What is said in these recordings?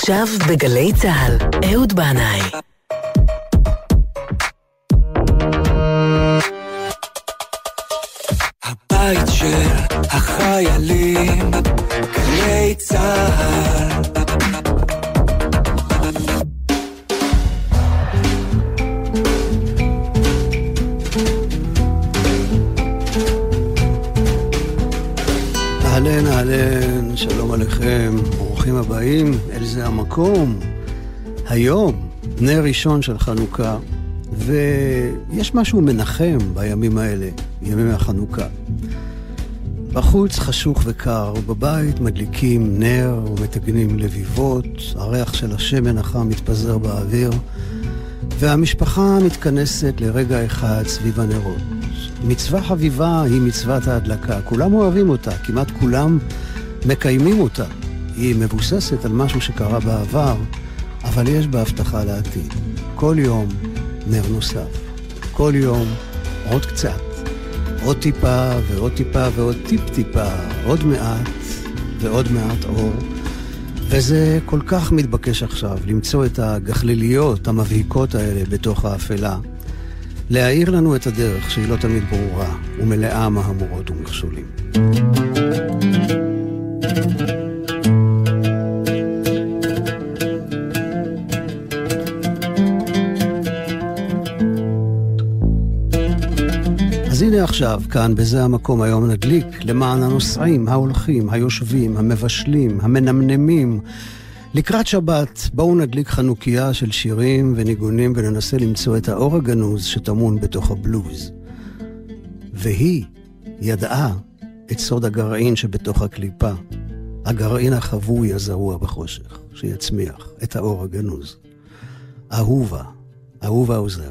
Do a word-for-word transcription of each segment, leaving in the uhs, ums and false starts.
עכשיו בגלי צהל, אהוד בנאי. הבית של החיילים, גלי צהל. אהלן, אהלן, שלום עליכם, ברוכים הבאים, אל זה המקום. היום, נר ראשון של חנוכה, ויש משהו מנחם בימים האלה, ימי החנוכה. בחוץ חשוך וקר, ובבית מדליקים נר ומתגנים לביבות, הריח של השמן החם מתפזר באוויר, והמשפחה מתכנסת לרגע אחד סביב הנרות. מצווה חביבה היא מצוות ההדלקה, כולם אוהבים אותה, כמעט כולם מקיימים אותה. היא מבוססת על משהו שקרה בעבר, אבל יש בה הבטחה לעתיד. כל יום נר נוסף, כל יום עוד קצת, עוד טיפה ועוד טיפה ועוד טיפ טיפה, עוד מעט ועוד מעט אור. וזה כל כך מתבקש עכשיו, למצוא את הגחליליות המבהיקות האלה בתוך האפלה, להאיר לנו את הדרך שהיא לא תמיד ברורה ומלאה מהמורות ומכשולים. אז הנה עכשיו, כאן בזה המקום היום נדליק למען הנוסעים, ההולכים, היושבים, המבשלים, המנמנמים. לקראת שבת בואו נדליק חנוכיה של שירים וניגונים וננסה למצוא את האור הגנוז שטמון בתוך הבלוז. והיא ידעה את סוד הגרעין שבתוך הקליפה, הגרעין החבוי הזרוע בחושך, שיצמיח את האור הגנוז. אהובה, אהובה עוזרי.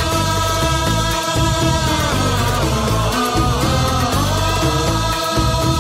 Oh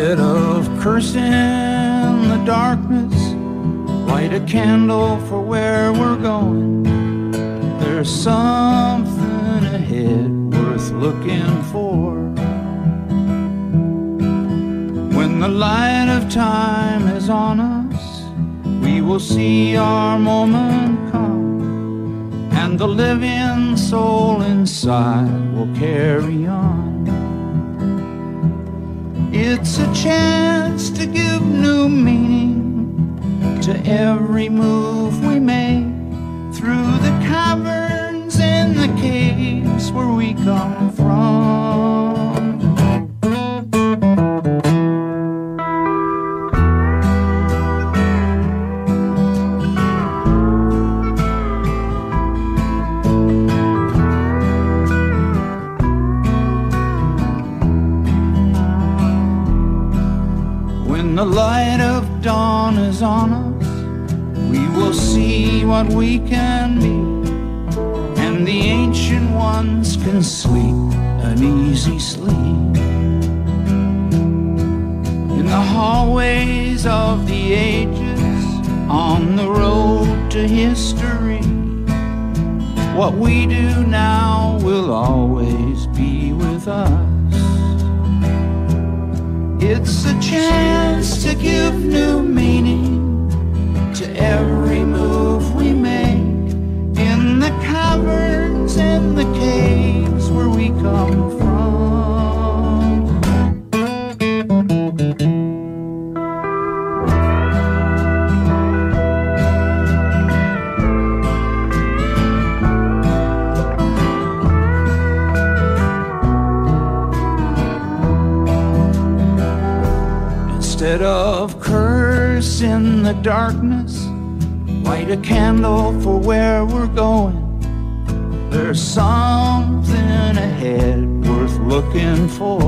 Instead of cursing the darkness, light a candle for where we're going. There's something ahead worth looking for. When the light of time is on us, we will see our moment come, and the living soul inside will carry on. It's a chance to give new meaning to every move we make through the caverns and the caves where we come from. When the light of dawn is on us, we will see what we can be, and the ancient ones can sleep an easy sleep. In the hallways of the ages, on the road to history, what we do now will always be with us. It's a chance to give new meaning to every move we make in the caverns and the caves where we come from. Instead of cursing the darkness, light a candle for where we're going. There's something ahead worth looking for.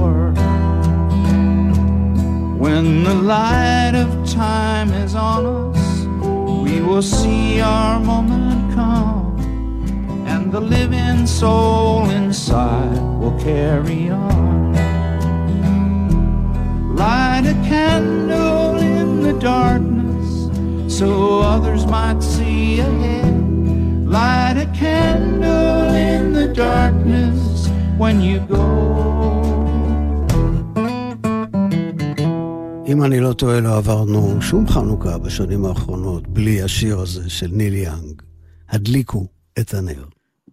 When the light of time is on us, we will see our moment come, and the living soul inside will carry on. Light a candle in the darkness so others might see ahead. Light a candle in the darkness when you go. אם אני לא טועה, לא עברנו שום חנוכה בשנים האחרונות בלי השיר הזה של ניל יאנג, הדליקו את הנר.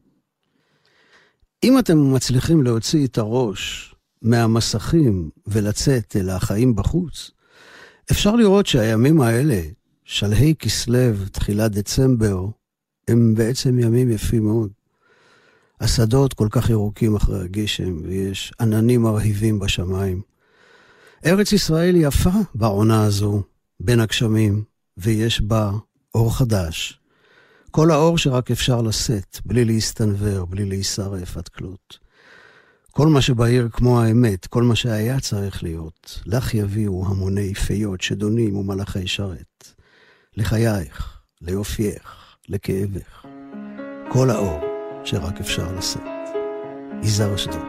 אם אתם מצליחים להוציא את הראש מהמסכים ולצאת אל החיים בחוץ, אפשר לראות שהימים האלה, שלהי כסלו, תחילת דצמבר, הם בעצם ימים יפים מאוד. השדות כל כך ירוקים אחרי הגשם, ויש עננים מרהיבים בשמיים. ארץ ישראל יפה בעונה הזו, בין הגשמים, ויש בה אור חדש. כל האור שרק אפשר לשאת, בלי להסתנבר, בלי להישרף עד כלות. כל מה שבעיר כמו האמת, כל מה שהיה צריך להיות, לך יביאו המוני פיות, שדונים ומלאכי שרת. לחייך, ליופייך, לכאבך. כל האור שרק אפשר לשאת. יזהר אשדוד.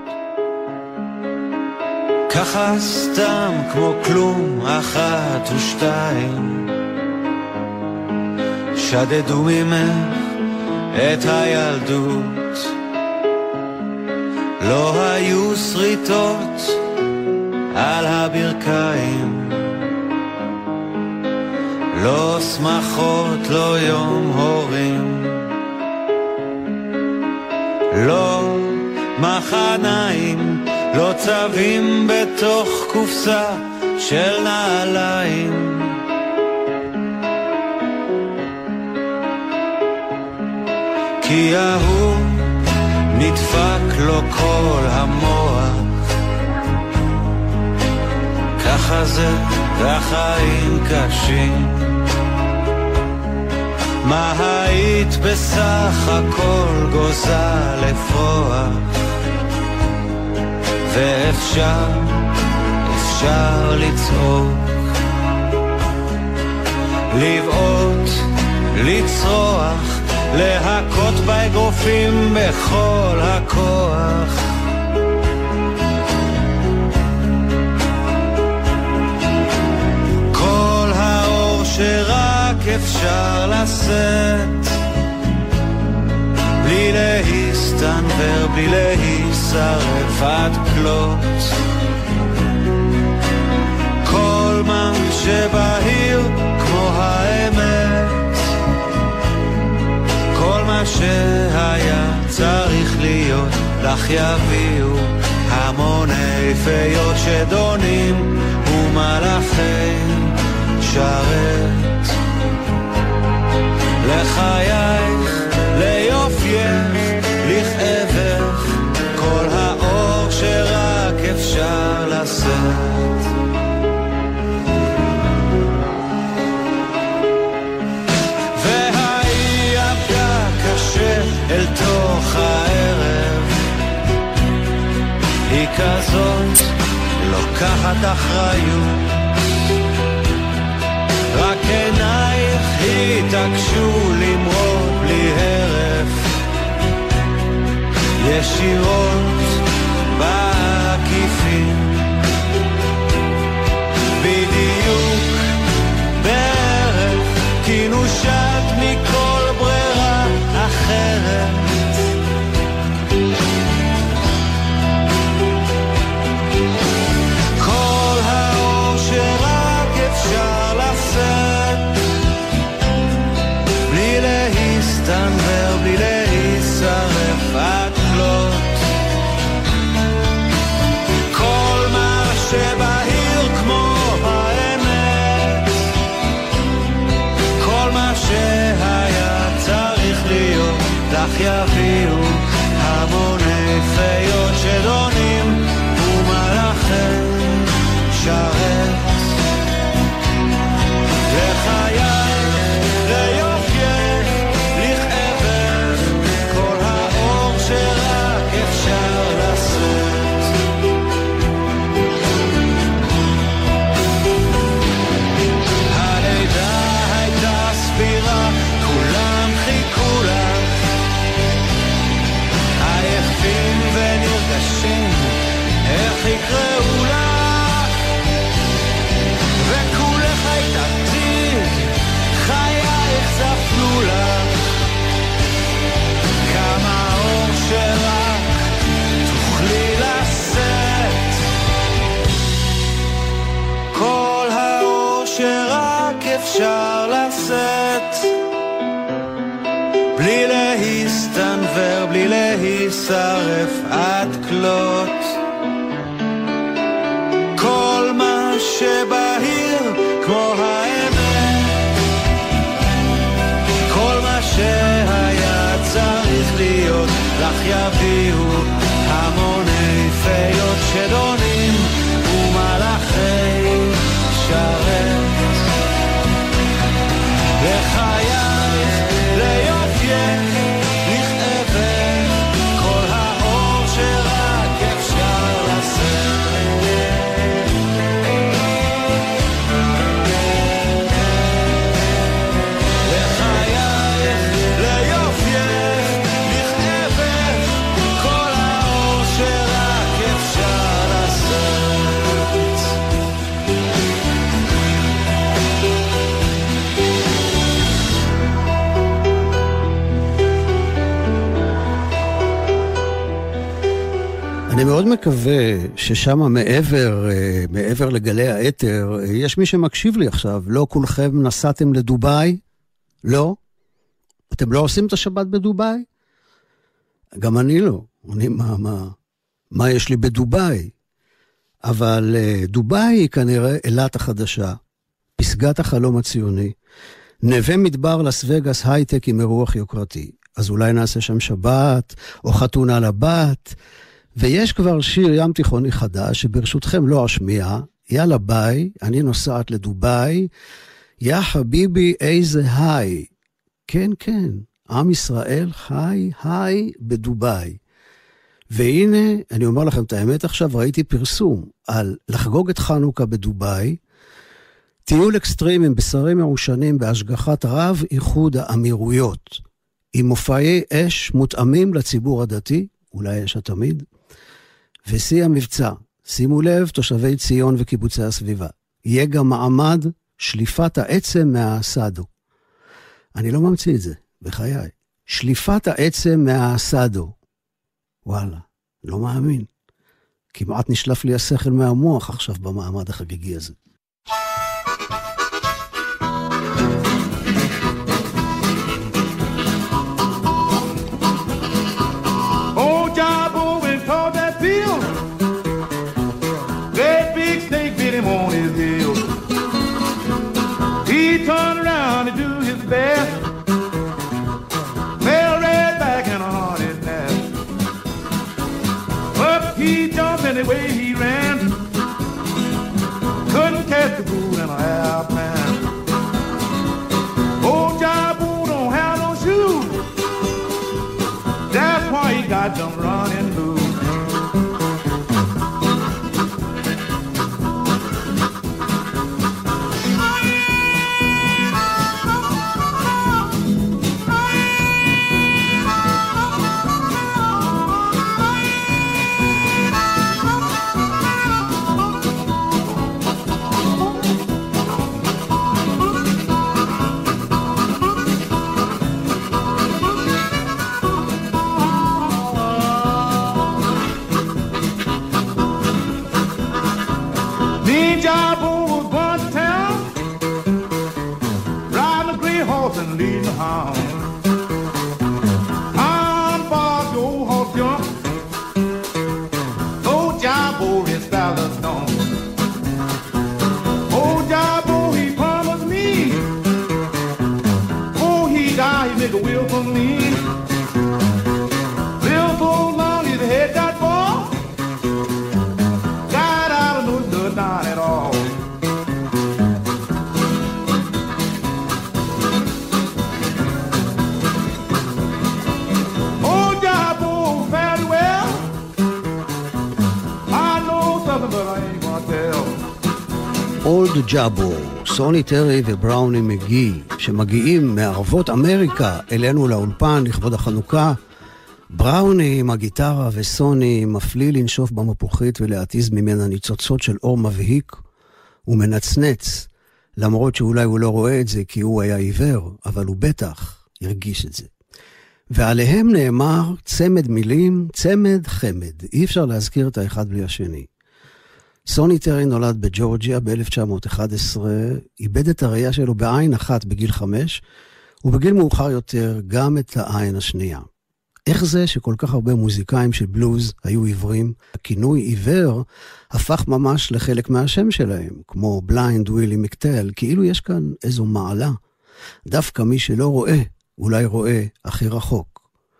ככה סתם כמו כלום, אחת ושתיים, שדדו ממך את הילדות. לא היו שריטות על הברכיים, לא שמחות, לא יום הורים, לא מחניים, לא צווים בתוך קופסה של נעליים. כי ההוא נדפק לו כל המוח, ככה זה והחיים קשים. מה היית בסך הכל גוזה לפרוח, ואפשר, אפשר לצעוק, לבעוט, לצרוח, להכות באגרופים בכל הכוח. שרק אפשר לשאת, בלי להסתנבר, בלי להישרף עד כלות. כל מה שבהיר כמו האמת, כל מה שהיה צריך להיות, לך יביאו המוני פיות שדונים ומלאכי שרת. לחייך, ליופייך, לכאבך, כל האור שרק אפשר לשאת. והיא עבדה קשה אל תוך הערב, היא כזאת לוקחת אחריות, רק עינייך התעקשו למרוד בלי הרף, ישירות בעקיפין, בדיוק בערך, כי נושת מכל ברירה אחרת. כל האור שרק אפשר לשאת, בלי להסתנבר, בלי להישרף עד כלות. כל מה שבהיר כמו האמת, כל מה שהיה צריך להיות, לך יביאו המוני פיות שדונים ומלאכי שרת. לחייך, ליופייך, לכאבך, כל האור שרק אפשר לשאת. הלידה הייתה סבירה, כולם חיכו לך, עייפים ונרגשים, איך יקראו לך, וכולך היית עתיד, חייך זפנו לך, כמה אור שרק תוכלי לשאת, כל האור שרק אפשר לשאת, בלי להסתנבר, בלי להישרף עד כלות. כל מה שבהיר כמו האמת, כל מה שהיה צריך להיות, לך יביאו המוני פיות שדונים ומלאכי שרת. לחייך, ליופייך, לכאבך, כל האור שרק אפשר לשאת. אני מאוד מקווה ששם מעבר, מעבר לגלי האתר, יש מי שמקשיב לי עכשיו. לא כולכם נסעתם לדוביי? לא? אתם לא עושים את השבת בדוביי? גם אני לא. אני, מה, מה, מה יש לי בדוביי? אבל דוביי היא כנראה אילת החדשה, פסגת החלום הציוני, נווה מדבר לס וגאס הייטק עם אירוח יוקרתי. אז אולי נעשה שם שבת, או חתונה לבת, ויש כבר שיר ים תיכוני חדש, שברשותכם לא אשמיע, יאללה ביי, אני נוסעת לדוביי, יא חביבי איזה היי, כן כן, עם ישראל חי היי בדוביי. והנה, אני אומר לכם את האמת עכשיו, ראיתי פרסום על לחגוג את חנוכה בדוביי, טיול אקסטרים עם בשרים מעושנים בהשגחת רב איחוד האמירויות, עם מופעי אש מותאמים לציבור הדתי, אולי יש התמיד, ושיא המבצע, שימו לב תושבי ציון וקיבוצי הסביבה, יהיה גם מעמד שליפת העצם מהאסדו. אני לא ממציא את זה, בחיי. שליפת העצם מהאסדו. וואלה, לא מאמין. כמעט נשלף לי השכל מהמוח עכשיו במעמד החגיגי הזה. The way he ran, couldn't catch the bull in a half man. Old Jabu don't have no shoes, that's why he got them running loose. אולד ג'אבו, סוני טרי ובראוני מגי, שמגיעים מערבות אמריקה אלינו לאולפן לכבוד החנוכה. בראוני עם הגיטרה וסוני מפליא לנשוף במפוחית ולהטיז ממנה ניצוצות של אור מבהיק ומנצנץ, למרות שאולי הוא לא רואה את זה כי הוא היה עיוור, אבל הוא בטח הרגיש את זה. ועליהם נאמר צמד מילים, צמד חמד, אי אפשר להזכיר את האחד בלי השני. סוני טרי נולד בג'ורג'יה ב-אלף תשע מאות ואחת עשרה, איבד את הראייה שלו בעין אחת בגיל חמש, ובגיל מאוחר יותר גם את העין השנייה. איך זה שכל כך הרבה מוזיקאים של בלוז היו עיוורים? הכינוי עיוור הפך ממש לחלק מהשם שלהם, כמו בליינד ווילי מקטל, כאילו יש כאן איזו מעלה. דווקא מי שלא רואה, אולי רואה הכי רחוק.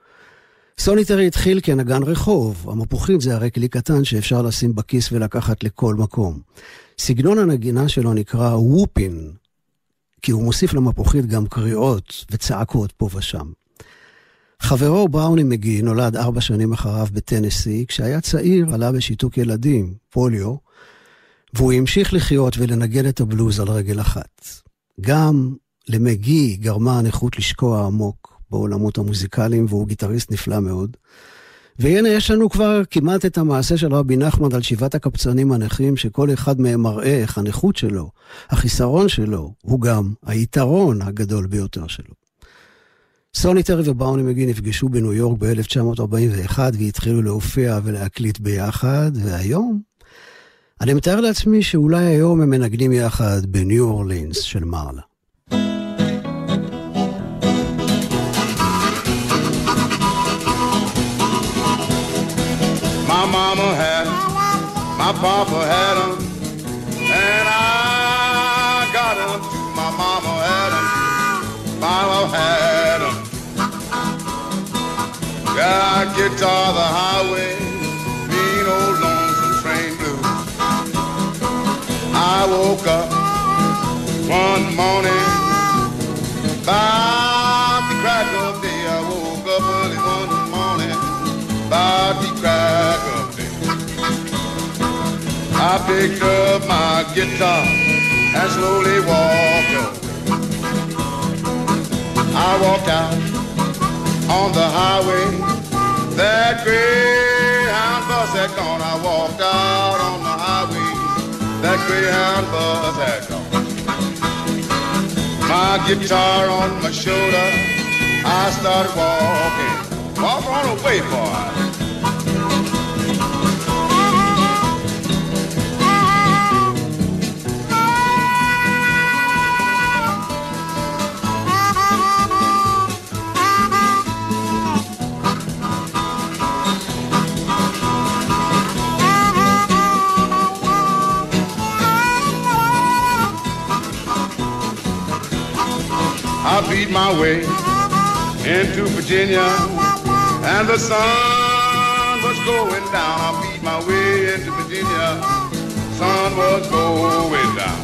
סוני טרי התחיל כנגן רחוב, המפוחית זה הרי כלי קטן שאפשר לשים בכיס ולקחת לכל מקום. סגנון הנגינה שלו נקרא וופין, כי הוא מוסיף למפוחית גם קריאות וצעקות פה ושם. חברו בראוני מגי נולד ארבע שנים אחריו בטנסי, כשהיה צעיר עלה בשיתוק ילדים, פוליו, והוא המשיך לחיות ולנגן את הבלוז על רגל אחת. גם למגי גרמה הנכות לשקוע עמוק בעולמות המוזיקליים, והוא גיטריסט נפלא מאוד. והנה יש לנו כבר כמעט את המעשה של רבי נחמן על שבעת הקפצנים הנכים, שכל אחד מהם מראה איך הנכות שלו, החיסרון שלו, הוא גם היתרון הגדול ביותר שלו. סוני טרי ובראוני מגי נפגשו בניו יורק ב-אלף תשע מאות ארבעים ואחת, והתחילו להופיע ולהקליט ביחד, והיום אני מתאר לעצמי שאולי היום הם מנגנים יחד בניו אורלינס של מרלה. My mama had 'em, my papa had 'em, and I got 'em too. My mama had 'em, papa had 'em. Got guitar the highway, mean old lonesome train blue. I woke up one morning, about the crack of day. I woke up early one morning, about the crack of day. I picked up my guitar and slowly walked away. I walked out on the highway, that Greyhound bus had gone. I walked out on the highway, that Greyhound bus had gone. my guitar on my shoulder, I started walking. Walk on away, boy. I beat my way into Virginia, and the sun was going down. I beat my way into Virginia, sun was going down.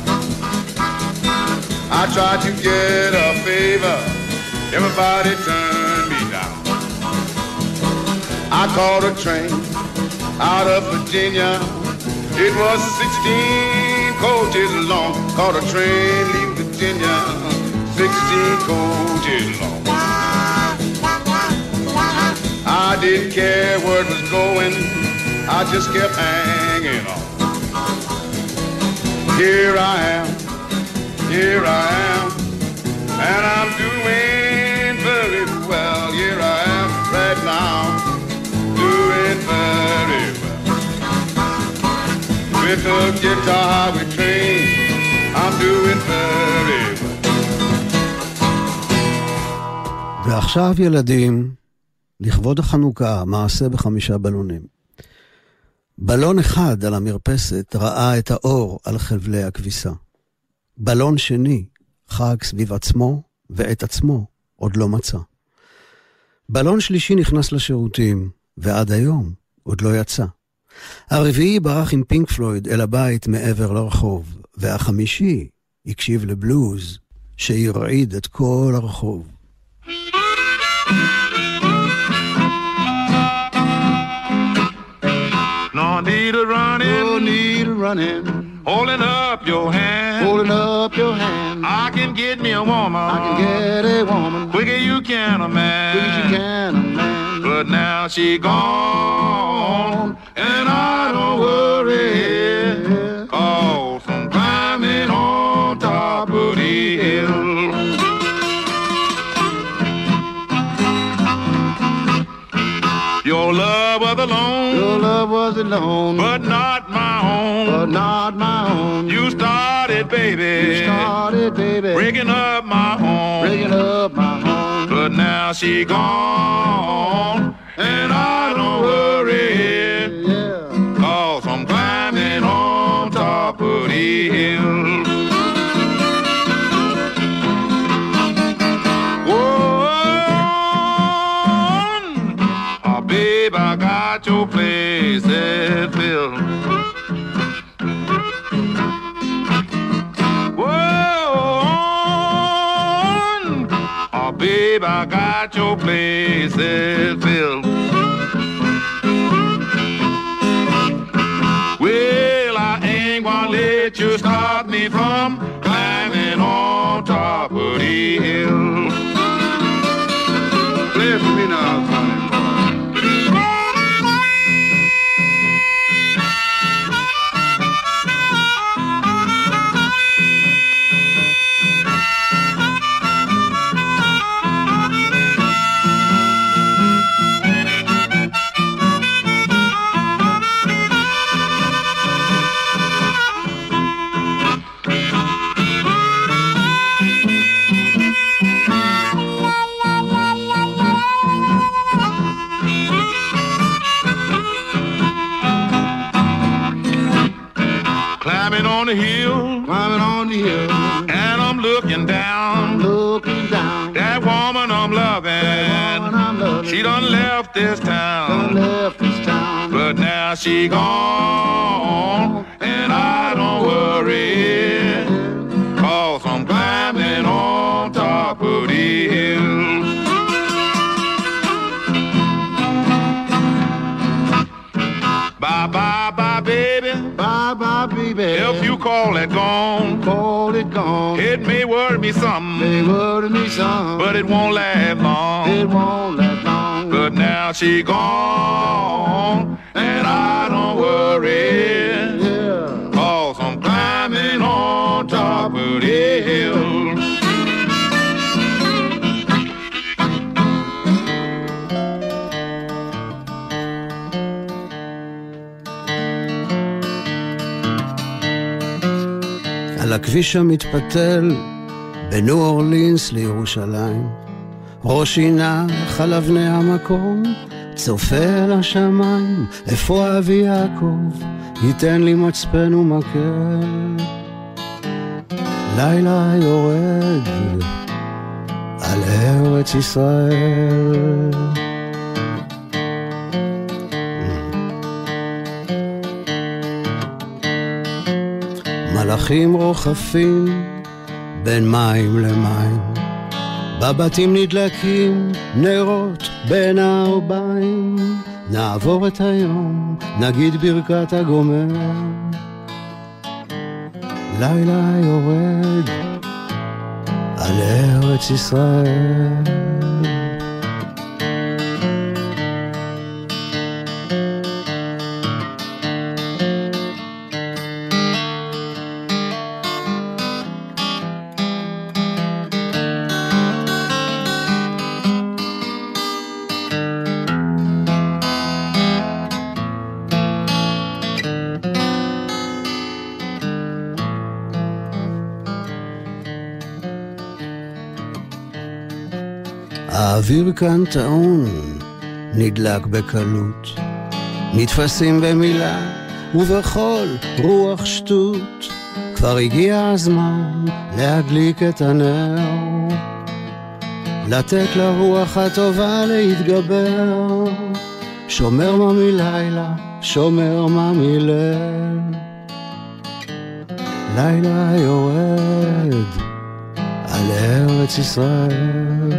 I tried to get a favor, everybody turned me down. I caught a train out of Virginia, it was sixteen coaches long. Caught a train leaving Virginia, sixteen coaches long. I didn't care where it was going, I just kept hanging on. Here I am, here I am, and I'm doing very well. Here I am right now, doing very well. With the guitar we train, I'm doing very well. ועכשיו ילדים, לכבוד החנוכה, מעשה בחמישה בלונים. בלון אחד על המרפסת ראה את האור על חבלי הכביסה. בלון שני חג סביב עצמו, ואת עצמו עוד לא מצא. בלון שלישי נכנס לשירותים, ועד היום עוד לא יצא. הרביעי ברח עם פינק פלויד אל הבית מעבר לרחוב, והחמישי הקשיב לבלוז שירעיד את כל הרחוב. No need a running, No need a running, holding up your hand. holding up your hand. I can get me a woman, I can get a woman, quicker you can a man. quick as you can a man. But now she gone, and I don't worry, cause I'm climbing on top of the hill. Your love was alone, Your love was alone, but not my own. but not my own. You started, baby, You started, baby, breaking up my home. breaking up my home. But now she gone, and I don't worry, Yeah. cause I'm climbing on top of the hill. Whoa, oh, babe, I got your place at Phil. Whoa, oh, babe, I got your place at Phil. Well, I ain't gonna let you stop me from climbing on top of the hill. Play it for me now, Sonny. Climbing on the hill, Climbing on the hill, and I'm looking down. looking down. That woman I'm loving, Woman I'm loving, she done left this done town. left this town. But now she gone, and I don't worry, cause I'm climbing on top of the hill. Bye, bye, bye, baby. Bye bye, baby. If you call it gone, call it gone, it may worry me some, they worry me some, but it won't last long. it won't last long. But now she gone, and I don't worry, Yeah. cause I'm climbing on top of the hill. הכביש המתפתל בין ניו אורלינס לירושלים. ראש עינה על אבני המקום, צופה אל השמיים, איפה אבי יעקב, ייתן לי מצפן ומקל. לילה יורד על ארץ ישראל. מלאכים רוחפים בין מים למים, בבתים נדלקים נרות בין הארבעים. נעבור את היום, נגיד ברכת הגומר. לילה יורד על ארץ ישראל. האוויר כאן טעון, נדלק בקלות, נתפסים במילה ובכל רוח שטות. כבר הגיע הזמן להדליק את הנר, לתת לרוח הטובה להתגבר. שומר מה מלילה, שומר מה מליל. לילה יורד על ארץ ישראל.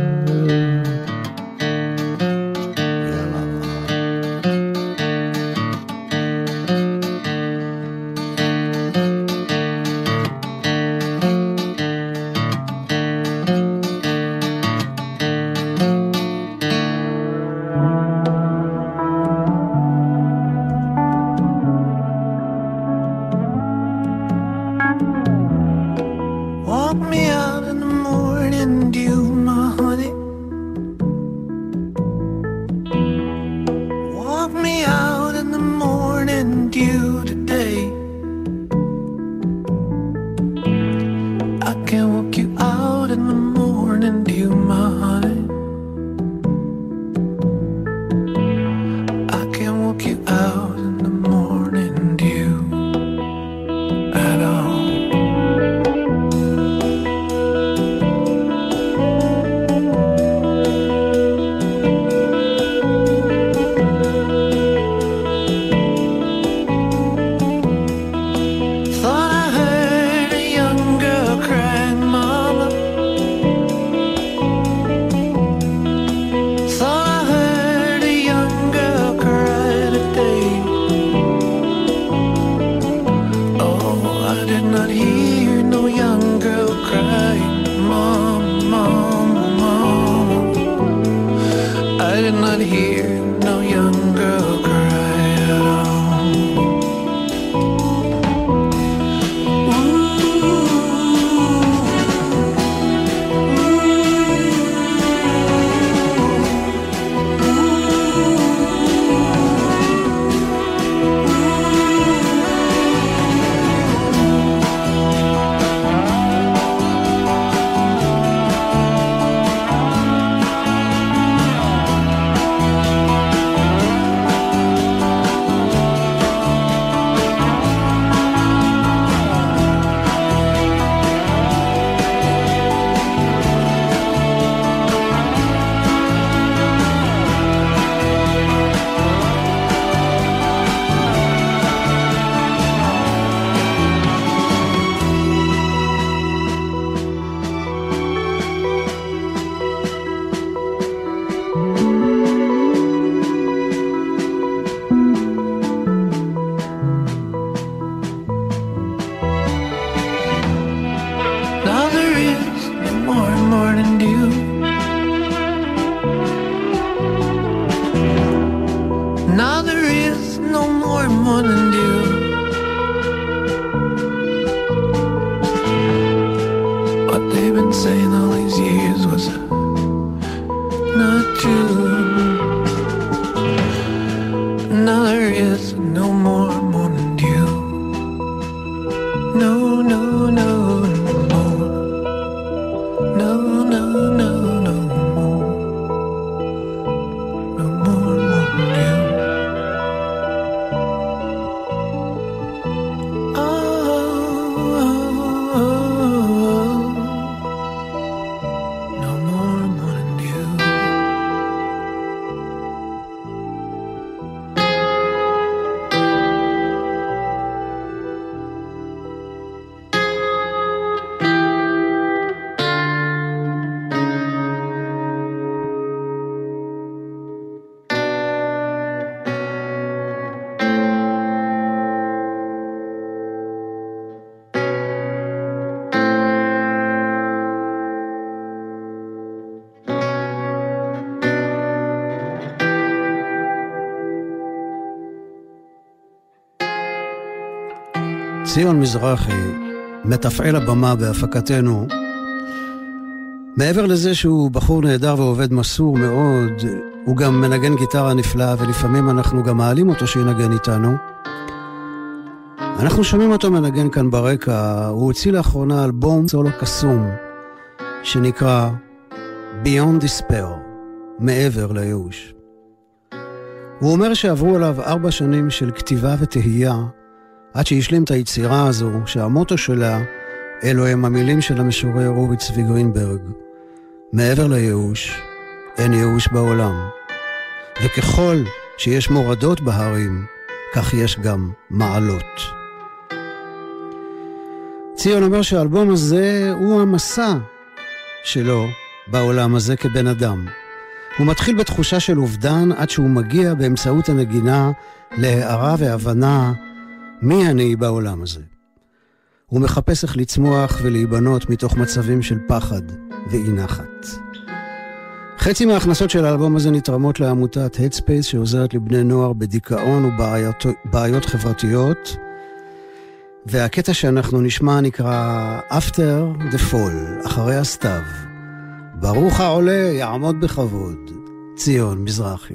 No, no, no. ציון מזרחי, מתפעל הבמה בהפקתנו. מעבר לזה שהוא בחור נהדר ועובד מסור מאוד, הוא גם מנגן גיטרה נפלאה, ולפעמים אנחנו גם מעלים אותו שינגן איתנו. אנחנו שומעים אותו מנגן כאן ברקע. הוא הוציא לאחרונה אלבום סולו קסום שנקרא Beyond Despair, מעבר לייאוש. הוא אומר שעברו עליו ארבע שנים של כתיבה ותהייה עד שהשלים את היצירה הזו, שהמוטו שלה אלו הם המילים של המשורר אורי צבי גרינברג: מעבר לייאוש אין ייאוש בעולם, וככל שיש מורדות בהרים כך יש גם מעלות. ציון אומר שהאלבום הזה הוא המסע שלו בעולם הזה כבן אדם. הוא מתחיל בתחושה של אובדן עד שהוא מגיע באמצעות הנגינה להערה והבנה מי אני בעולם הזה. הוא מחפש איך לצמוח ולהיבנות מתוך מצבים של פחד ואי נחת. חצי מההכנסות של האלבום הזה נתרמות לעמותת Headspace שעוזרת לבני נוער בדיכאון ובעיות חברתיות, והקטע שאנחנו נשמע נקרא After the Fall, אחרי הסתיו. ברוך העולה יעמוד בכבוד. ציון מזרחי.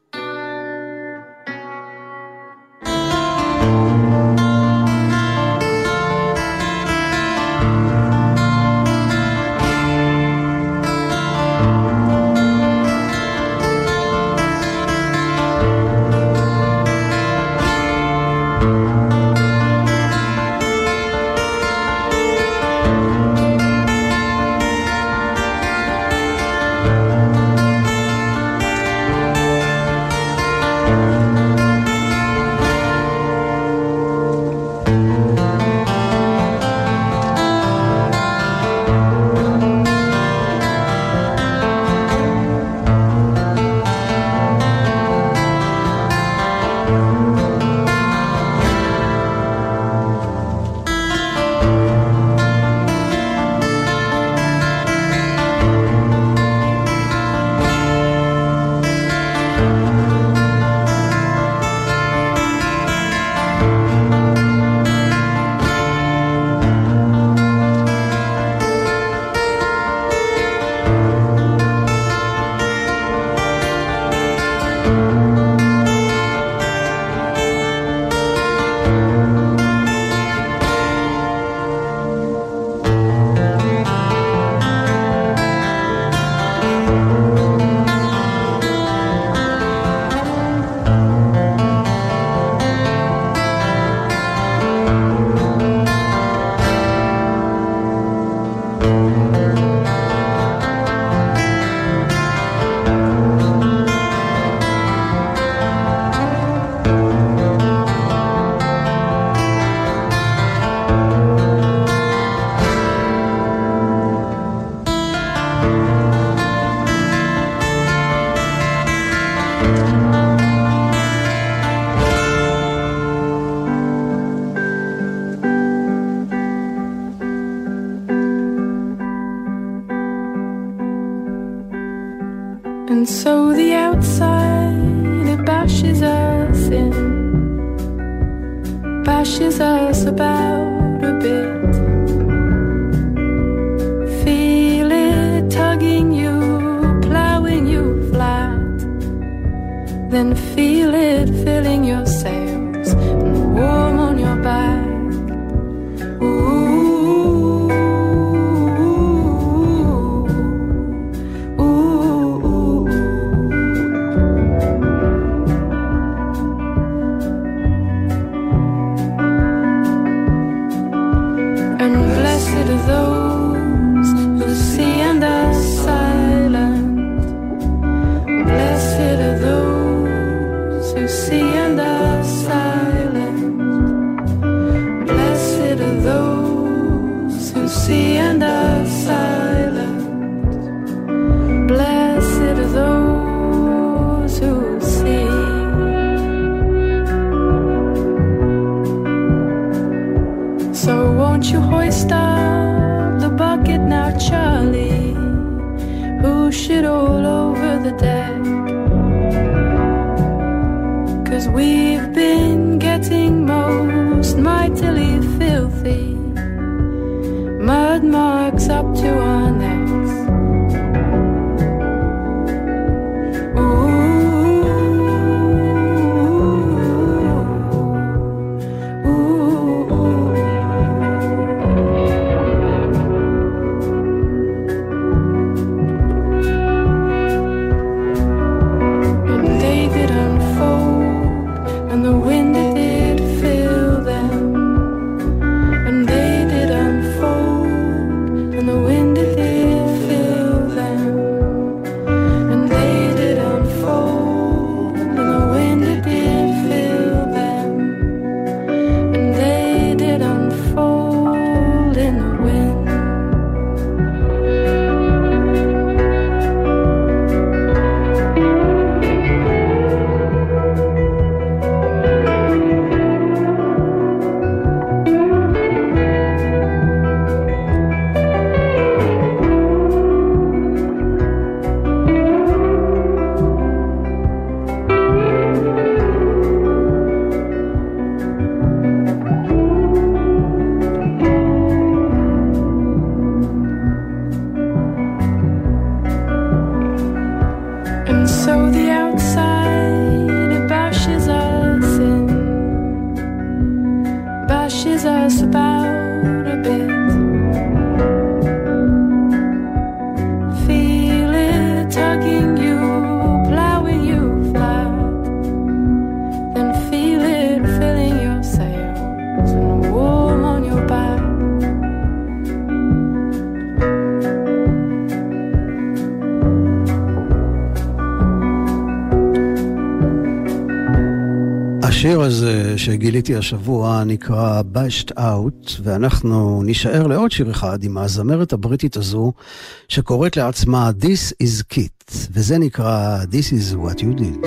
And so the outside, it bashes us in, bashes us about a bit. Feel it tugging you, plowing you flat. Then feel it filling your sails and warm on your back. Ooh. See and are silent. השיר הזה שגיליתי השבוע נקרא Bashed Out, ואנחנו נשאר לעוד שיר אחד עם הזמרת הבריטית הזו שקוראת לעצמה This is Kit, וזה נקרא This is what you did.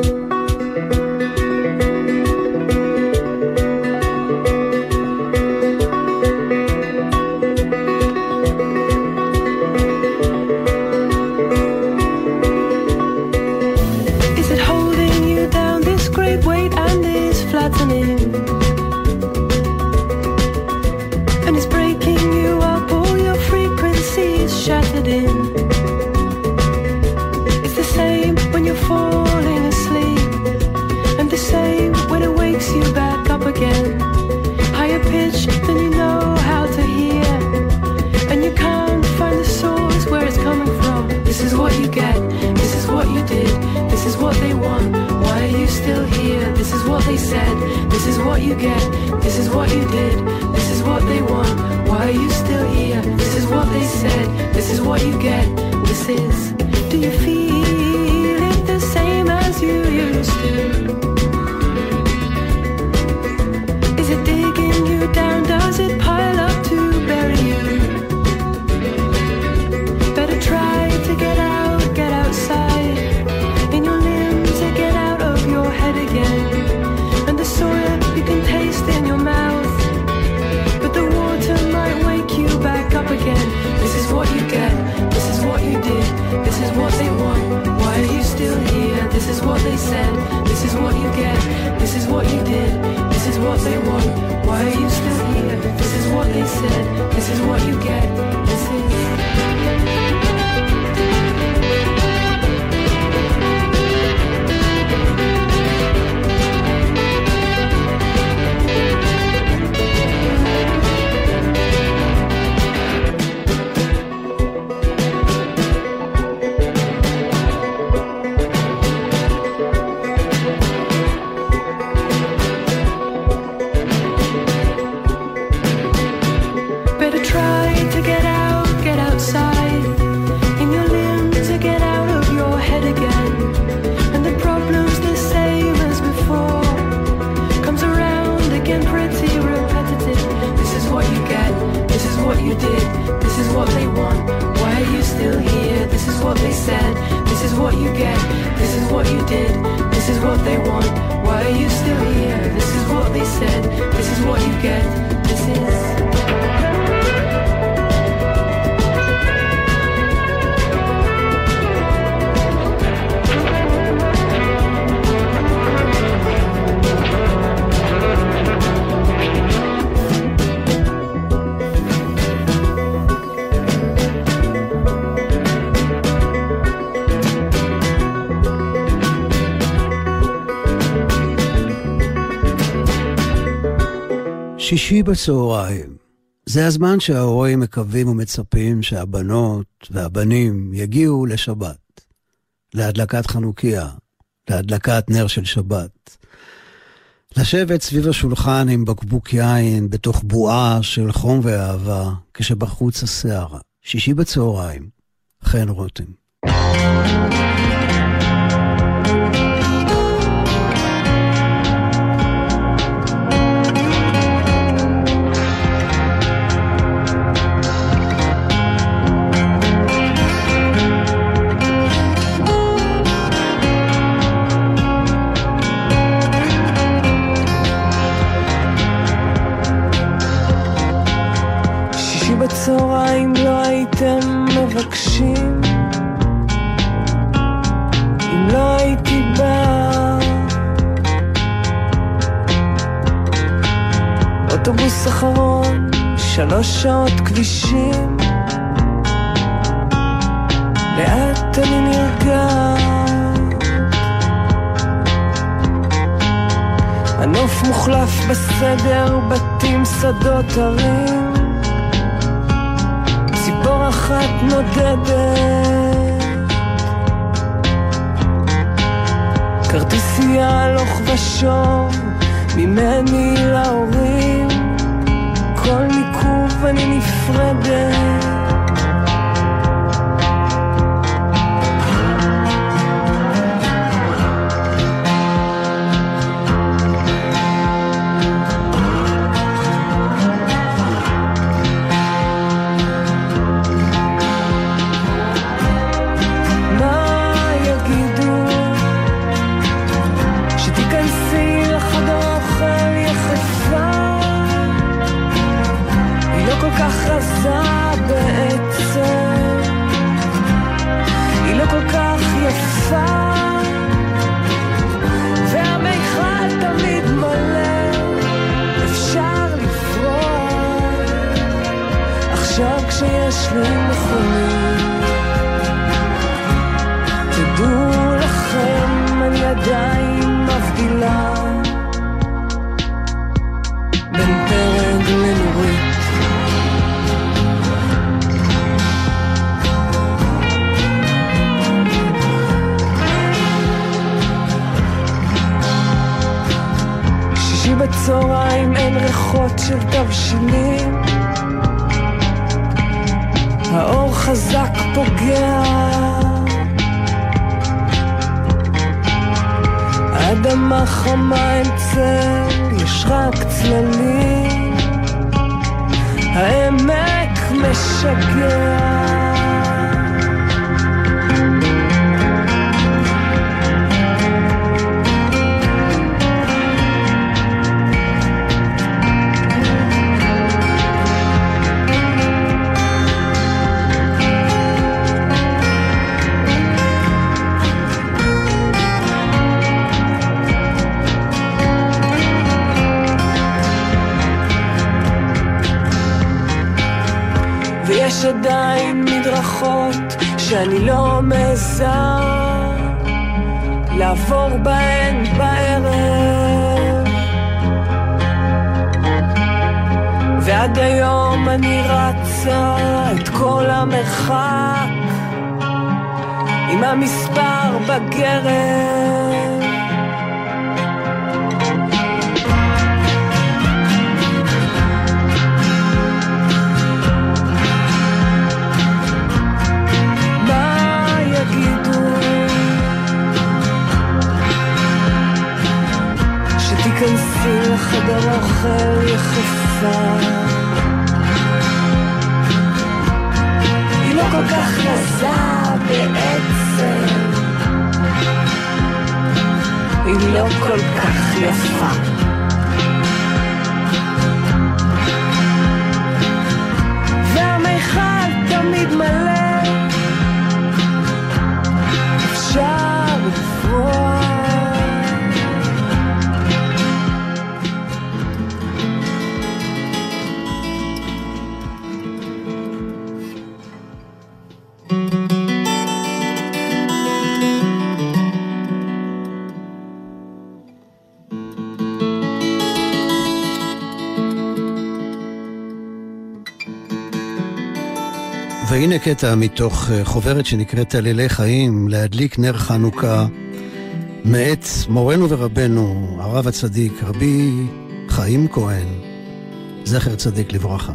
שישי בצהריים, זה הזמן שההורים מקווים ומצפים שהבנות והבנים יגיעו לשבת, להדלקת חנוכיה, להדלקת נר של שבת, לשבת סביב השולחן עם בקבוק יין בתוך בועה של חום ואהבה, כשבחוץ הסערה. שישי בצהריים, חן רותם. בצהריים לא הייתם מבקשים, אם לא הייתי בא, אוטובוס אחרון, שלוש שעות כבישים, לאט אני נרגע, הנוף מוחלף בסדר, בתים שדות הרים, ציפור אחת נודדת, כרטיסייה הלוך ושוב ממני להורים, כל מיקוב אני נפרדת, לי נכונים. תדעו לכם, אני עדיין מבדילה בין פרק לנורית. שישי בצהריים אין ריחות של תבשילים, האור חזק פוגע, האדמה חמה אין צל, יש רק צללים, העמק משגע. יש עדיין מדרכות שאני לא מעזה לעבור בהן בערב, ועד היום אני רצה את כל המרחק עם המספר בגרב. כנסי לחדר אוכל יחפה, היא לא כל כך רזה בעצם, היא לא כל כך יפה. והמיכל תמיד מלא, אפשר לפרוע. והנה קטע מתוך חוברת שנקראת עלילי חיים, להדליק נר חנוכה, מאת מורנו ורבנו, הרב הצדיק, רבי חיים כהן, זכר צדיק לברכה.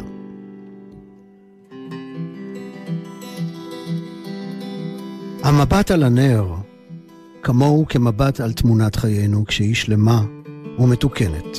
המבט על הנר, כמוהו כמבט על תמונת חיינו, כשהיא שלמה ומתוקנת.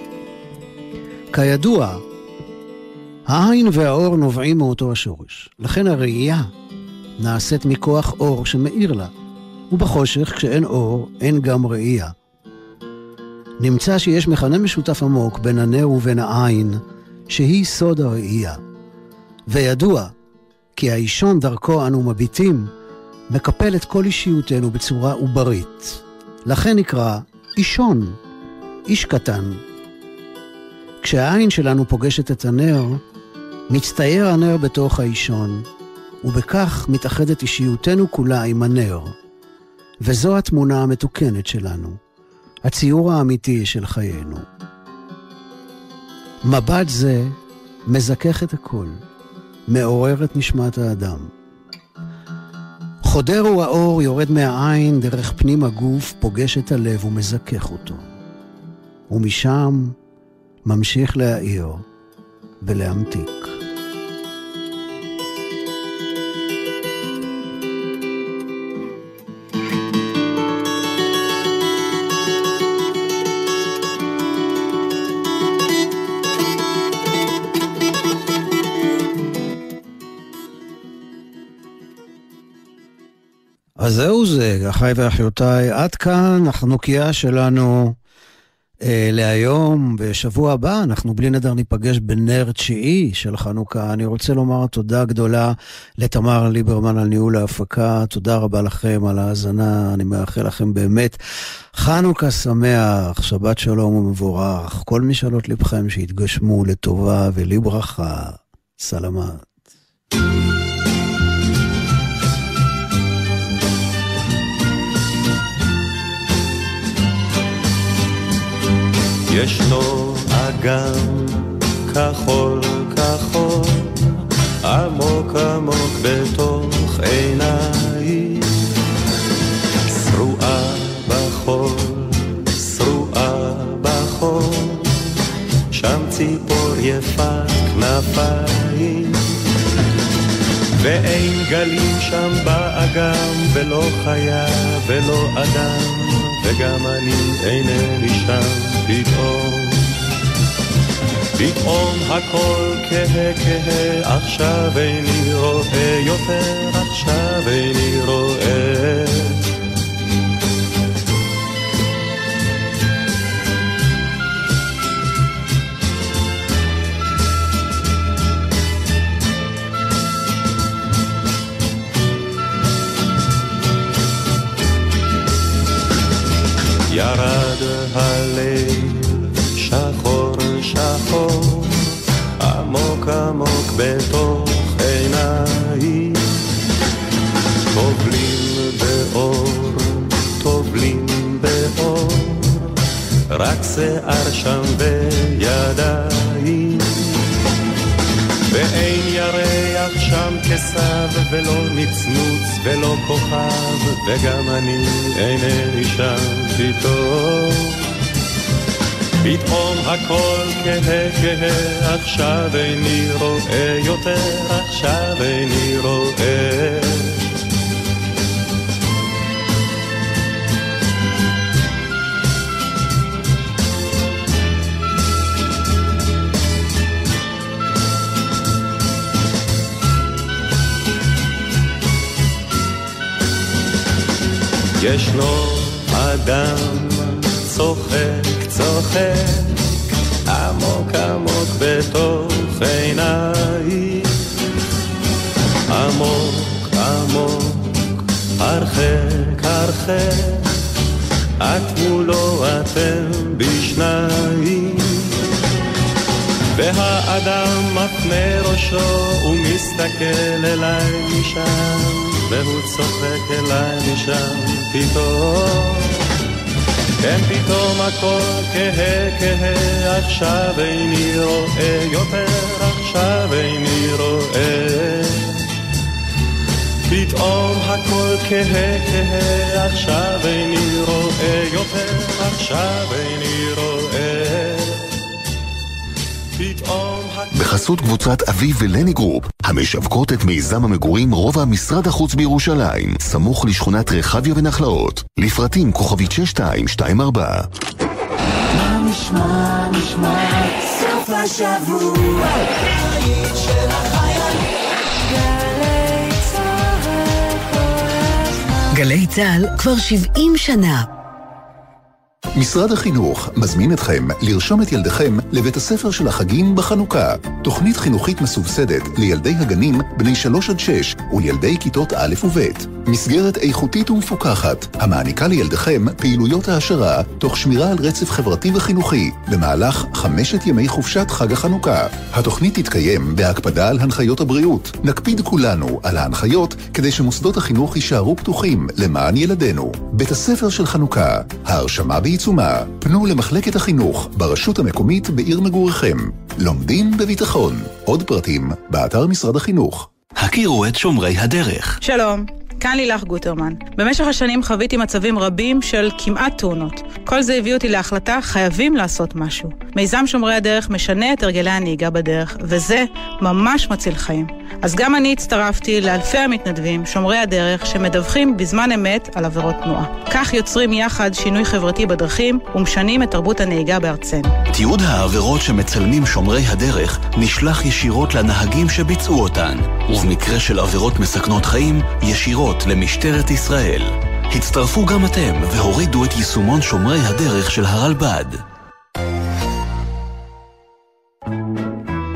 כידוע, העין והאור נובעים מאותו השורש. לכן הראייה נעשית מכוח אור שמאיר לה. ובחושך, כשאין אור, אין גם ראייה. נמצא שיש מכנה משותף עמוק בין הנר ובין העין, שהיא סוד הראייה. וידוע, כי האישון דרכו אנו מביטים, מקפל את כל אישיותנו בצורה עוברית. לכן נקרא אישון, איש קטן. כשהעין שלנו פוגשת את הנר, מצטייר הנר בתוך האישון, ובכך מתאחדת אישיותנו כולה עם הנר. וזו התמונה המתוקנת שלנו, הציור האמיתי של חיינו. מבט זה מזכך את הכל, מעורר את נשמת האדם. חודר הוא האור, יורד מהעין דרך פנים הגוף, פוגש את הלב ומזכך אותו. ומשם ממשיך להאיר ולהמתיק. אז זהו זה, אחיי ואחיותיי, עד כאן החנוכיה שלנו אה, להיום. בשבוע הבא אנחנו בלי נדר ניפגש בנר תשיעי של חנוכה. אני רוצה לומר תודה גדולה לתמר ליברמן על ניהול ההפקה, תודה רבה לכם על ההאזנה, אני מאחל לכם באמת חנוכה שמח, שבת שלום ומבורך, כל משאלות לבכם שיתגשמו לטובה ולברכה, סלמת. ישנו אגם כחול כחול עמוק עמוק בתוך עיניי שרועה בחול שרועה בחול שם ציפור יפת כנפיים ואין גלים שם באגם ולא חיה ולא אדם וגם אני אינני שם פתאום פתאום הכל כהה כהה עכשיו איני רואה יותר עכשיו איני רואה ירד הליל שחור שחור עמוק עמוק בתוך עיניי טובלים באור טובלים באור רק שיער שם בידיים ואין ירח שם כסב ולא נצנוץ ולא כוכב וגם אני אינני שם פתאום פתאום הכל כהה כהה עכשיו איני רואה יותר עכשיו איני רואה ישנו אדם צוחק צוחק עמוק עמוק בתוך עיניי עמוק עמוק הרחק הרחק את מולו אתם בשניים והאדם מפנה ראשו ומסתכל אליי משם והוא צוחק אליי משם פתאום כן פתאום הכל כהה כהה עכשיו איני רואה יותר עכשיו איני רואה פתאום הכל כהה כהה עכשיו איני רואה יותר עכשיו איני רואה פתאום בחסות קבוצת אביב ולני גרופ, המשווקות את מיזם המגורים רובע משרד החוץ בירושלים, סמוך לשכונת רחביה ונחלאות. לפרטים כוכבית שש שתיים שתיים ארבע. מה נשמע, נשמע, סוף השבוע, היית של החיילים. גלי צהל כל הזמן. גלי צהל כבר שבעים שנה. משרד החינוך מזמין אתכם לרשום את ילדיכם לבית הספר של החגים בחנוכה. תוכנית חינוכית מסובסדת לילדי הגנים בני שלוש עד שש ולילדי כיתות א' וב'. מסגרת איכותית ומפוקחת המעניקה לילדיכם פעילויות העשרה תוך שמירה על רצף חברתי וחינוכי במהלך חמשת ימי חופשת חג החנוכה. התוכנית תתקיים בהקפדה על הנחיות הבריאות. נקפיד כולנו על ההנחיות כדי שמוסדות החינוך יישארו פתוחים למען ילדינו. בית הספר של חנוכה, ההרשמה בעיצומה. פנו למחלקת החינוך ברשות המקומית בעיר מגוריכם. לומדים בביטחון. עוד פרטים באתר משרד החינוך. הכירו את שומרי הדרך. שלום, כאן לילך גוטרמן. במשך השנים חוויתי מצבים רבים של כמעט תאונות. כל זה הביא אותי להחלטה, חייבים לעשות משהו. מיזם שומרי הדרך משנה את הרגלי הנהיגה בדרך, וזה ממש מציל חיים. אז גם אני הצטרפתי לאלפי המתנדבים, שומרי הדרך, שמדווחים בזמן אמת על עבירות תנועה. כך יוצרים יחד שינוי חברתי בדרכים ומשנים את תרבות הנהיגה בארצנו. תיעוד העבירות שמצלמים שומרי הדרך נשלח ישירות לנהגים שביצעו אותן, ובמקרה של עבירות מסכנות חיים, ישירות למשטרת ישראל. הצטרפו גם אתם והורידו את יישומון שומרי הדרך של הרלב"ד.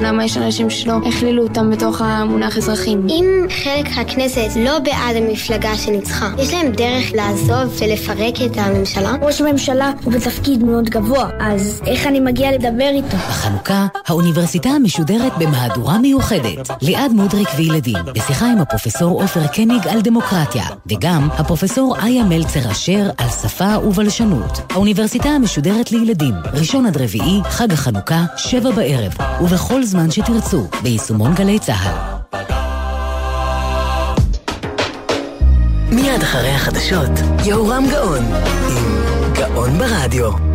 למה יש אנשים שלא הכלילו אותם בתוך המונח אזרחים. אם חלק הכנסת לא בעד המפלגה שניצחה, יש להם דרך לעזוב ולפרק את הממשלה? ראש הממשלה הוא בתפקיד מאוד גבוה, אז איך אני מגיע לדבר איתו? בחנוכה, האוניברסיטה המשודרת במהדורה מיוחדת. ליעד מודריק וילדים, בשיחה עם הפרופסור עופר קניג על דמוקרטיה, וגם הפרופסור איה מלצר אשר על שפה ובלשנות. האוניברסיטה המשודרת לילדים, ראשון עד רביעי, חג החנוכה, שבע בערב, ובכל זמן שתרצו, ביישומון גלי צהל. מיד אחרי החדשות, יהורם גאון, עם גאון ברדיו.